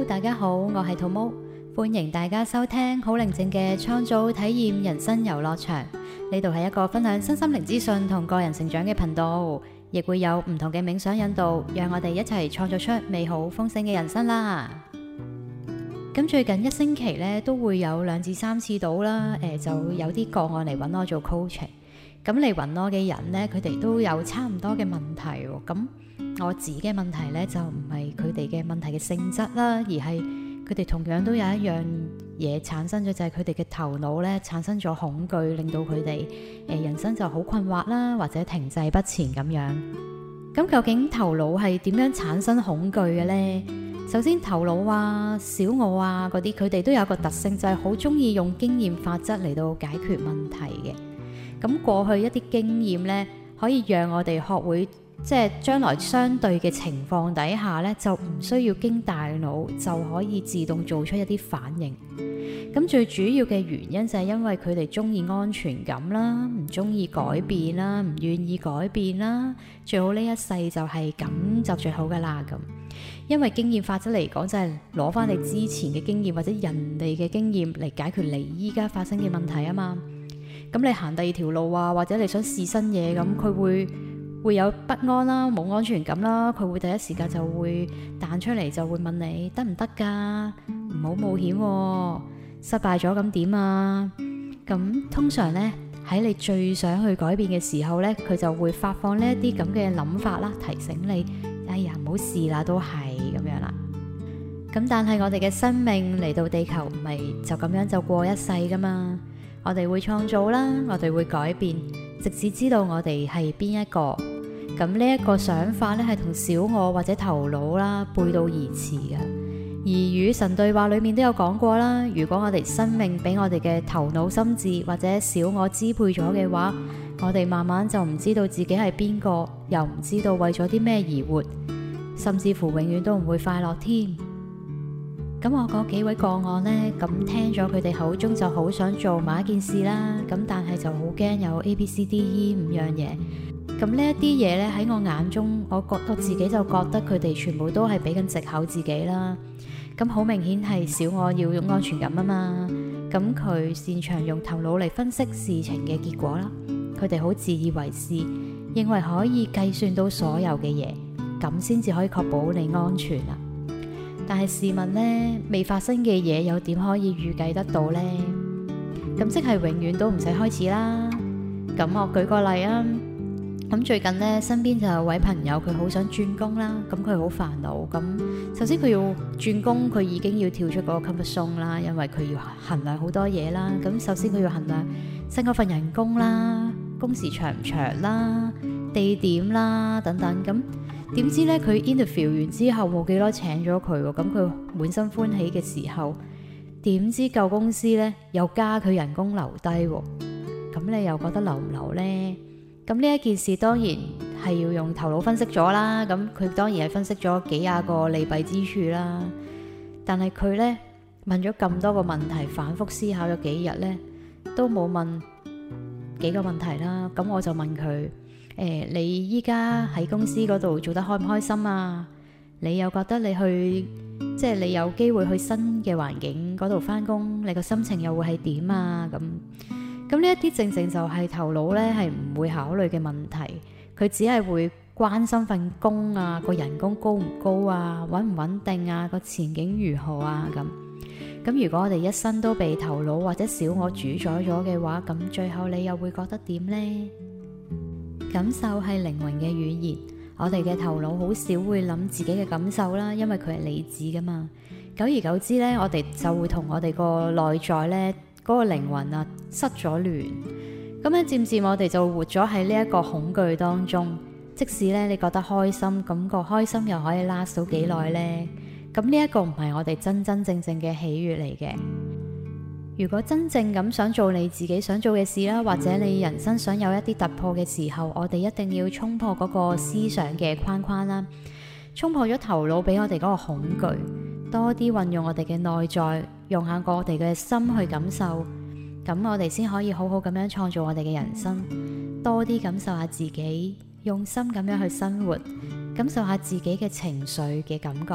大家好，我係土毛，歡迎大家收聽好寧靜嘅創造體驗人生遊樂場。呢度係一個分享身心靈資訊同個人成長嘅頻道，亦會有唔同嘅冥想引導，讓我哋一齊創造出美好豐盛嘅人生啦。咁最近一星期咧都會有2至3次到啦，就有啲個案嚟揾我做 coaching。咁嚟揾我嘅人咧，佢哋都有差唔多嘅問題喎。咁我自己嘅問題咧就唔係佢哋嘅問題嘅性質啦，而係佢哋同樣都有一樣嘢產生咗，就係佢哋嘅頭腦咧產生咗恐懼，令到佢哋人生就好困惑啦，或者停滯不前咁樣。咁究竟頭腦係點樣產生恐懼嘅呢？首先頭腦啊、小我啊嗰啲，佢哋都有一個特性，就係好中意用經驗法則嚟到解決問題嘅。咁過去一啲經驗咧，可以讓我哋學會，即係將來相對嘅情況底下咧，就唔需要經大腦就可以自動做出一啲反應。咁最主要嘅原因就係因為佢哋中意安全感啦，唔中意改變啦，唔願意改變啦，最好呢一世就係咁就最好噶啦咁。因為經驗法則嚟講，就係攞翻你之前嘅經驗或者人哋嘅經驗嚟解決你依家發生嘅問題啊嘛。咁你行第二條路啊，或者你想試新嘢，咁佢會有不安啦，冇安全感啦，佢會第一時間就會彈出嚟，就會問你得唔得㗎？唔好冒險喎，失敗咗咁點啊？咁通常呢，喺你最想去改變嘅時候呢，佢就會發放呢一啲咁嘅諗法啦，提醒你，哎呀唔好試啦，都係咁樣啦。咁但係我哋嘅生命嚟到地球唔係就咁樣就過一世㗎嘛。我哋會創造啦，我哋會改變，直至知道我哋係邊一個。咁呢一個想法咧，係同小我或者頭腦啦背道而馳嘅。而與神對話裏面都有講過啦，如果我哋生命俾我哋嘅頭腦心智或者小我支配咗嘅話，我哋慢慢就唔知道自己係邊個，又唔知道為咗啲咩而活，甚至乎永遠都唔會快樂添。咁我嗰幾位個案呢，咁聽咗佢哋口中就好想做某一件事啦，咁但係就好驚有 ABCDE 5樣嘢。咁呢一啲嘢呢，喺我眼中，我自己就覺得佢哋全部都係俾緊藉口自己啦。咁好明顯係小我要用安全感啊嘛，咁佢擅長用頭腦嚟分析事情嘅結果啦。佢哋好自以為是，認為可以計算到所有嘅嘢，咁先至可以確保你安全啊。但係試問呢，未發生嘅嘢又點可以預計得到呢？咁即係永遠都唔使開始啦。咁我舉個例啊，咁最近呢，身邊就有位朋友，佢好想轉工啦，咁佢好煩惱。咁首先佢要轉工，佢已經要跳出嗰個 comfort zone 啦，因為佢要衡量好多嘢啦。咁首先佢要衡量新嗰份人工啦、工時長唔長啦、地點啦等等咁。點知咧，佢 interview 完之後冇幾多請咗佢喎，咁佢滿心歡喜嘅時候，點知舊公司咧又加佢人工留低喎，咁你又覺得留唔留呢？咁呢一件事當然係要用頭腦分析咗啦，咁佢當然係分析咗幾廿個利弊之處啦，但係佢咧問咗咁多個問題，反覆思考咗幾日咧，都冇問幾個問題啦，咁我就問佢。你依家喺公司嗰度做得開唔開心啊？你又覺得你去，即係你有機會去新嘅環境嗰度返工，你個心情又會係點啊？咁呢一啲正正就係頭腦咧係唔會考慮嘅問題，佢只係會關心份工啊，個人工高唔高啊，穩唔穩定啊，個前景如何啊咁如果我哋一生都被頭腦或者小我主宰咗嘅話，咁最後你又會覺得點呢？感受係靈魂嘅語言，我哋嘅頭腦好少會諗自己嘅感受啦，因為佢係理智噶嘛。久而久之咧，我哋就會同我哋個內在咧嗰個靈魂啊失咗聯。咁樣漸漸我哋就活咗喺呢一個恐懼當中。即使咧你覺得開心，咁個開心又可以 last 到幾耐呢？咁呢一個唔係我哋真真正正嘅喜悅嚟嘅。如果真正咁想做你自己想做嘅事啦，或者你人生想有一啲突破嘅時候，我哋一定要衝破嗰個思想嘅框框啦，衝破咗頭腦俾我哋嗰個恐懼，多啲運用我哋嘅內在，用下我哋嘅心去感受，咁我哋先可以好好咁樣創造我哋嘅人生，多啲感受下自己，用心咁樣去生活，感受下自己嘅情緒嘅感覺。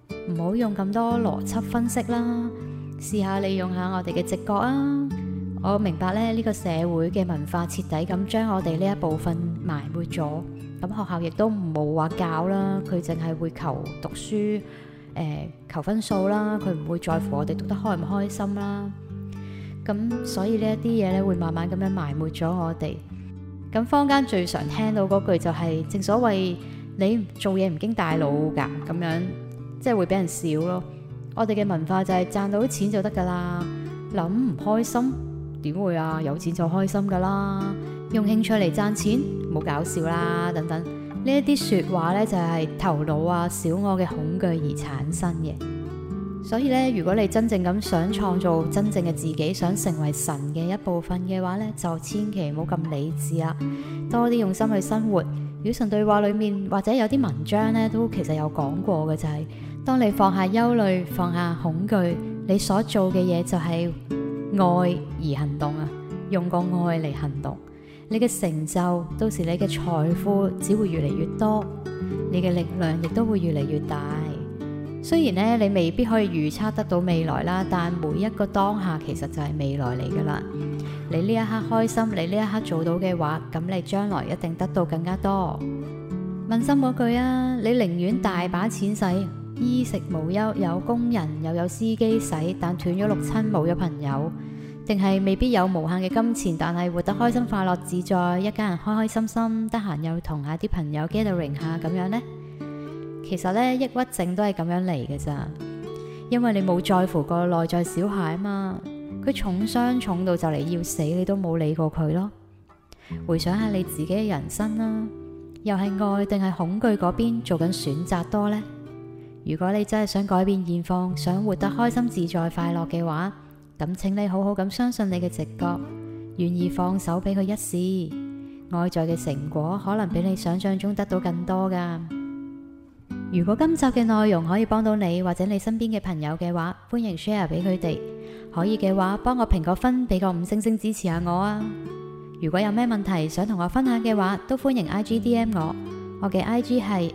唔好用咁多邏輯分析啦，試下利用下我哋嘅直覺啊！我明白咧，呢個社會嘅文化徹底咁將我哋呢一部分埋沒咗。咁學校亦都冇話教啦，佢淨係會求讀書，求分數啦，佢唔會在乎我哋讀得開唔開心啦。咁所以呢一啲嘢咧，會慢慢咁樣埋沒咗我哋。咁坊間最常聽到嗰句就係，正所謂你做嘢唔經大腦㗎，咁樣即係會俾人笑咯。我哋嘅文化就係賺到錢就得㗎啦，諗唔開心點會啊？有錢就開心㗎啦，用興趣嚟賺錢冇搞笑啦，等等呢一啲說話咧，就係頭腦啊、小我嘅恐懼而產生嘅。所以咧，如果你真正咁想創造真正嘅自己，想成為神嘅一部分嘅話咧，就千祈唔好咁理智啦，多啲用心去生活。與神對話裏面或者有啲文章咧，都其實有講過嘅，就係當你放下憂慮、放下恐懼，你所做嘅嘢就係愛而行動啊，用個愛嚟行動，你嘅成就，到時你嘅財富只會越嚟越多，你嘅力量亦都會越嚟越大。雖然咧，你未必可以預測得到未來啦，但每一個當下其實就係未來嚟噶啦。你呢一刻開心，你呢一刻做到嘅話，咁你將來一定得到更加多。問心嗰句啊，你寧願大把錢使，衣食無憂，有工人又有司機使，但斷咗六親冇咗朋友，定係未必有無限嘅金錢，但係活得開心快樂自在，一家人開開心心，得閒又同下啲朋友 gathering 下咁樣呢？其實咧，抑鬱症都係咁樣嚟嘅咋，因為你冇在乎個內在小孩啊嘛，佢重傷重到就嚟要死，你都冇理過佢咯。回想下你自己嘅人生啦，又係愛定係恐懼嗰邊做緊選擇多呢？如果你真係想改變現況，想活得開心自在快樂嘅話，咁請你好好咁相信你嘅直覺，願意放手俾佢一試，外在嘅成果可能比你想象中得到更多噶。如果今集嘅內容可以幫到你或者你身邊嘅朋友嘅話，歡迎 share 俾佢哋。可以嘅話，幫我評個分，俾個5星星支持下我啊！如果有咩問題想同我分享嘅話，都歡迎 IG DM 我。我嘅 IG 係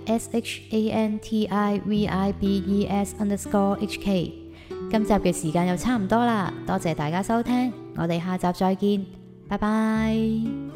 SHANTIVIBES_HK。今集嘅時間又差唔多啦，多謝大家收聽，我哋下集再見，拜拜。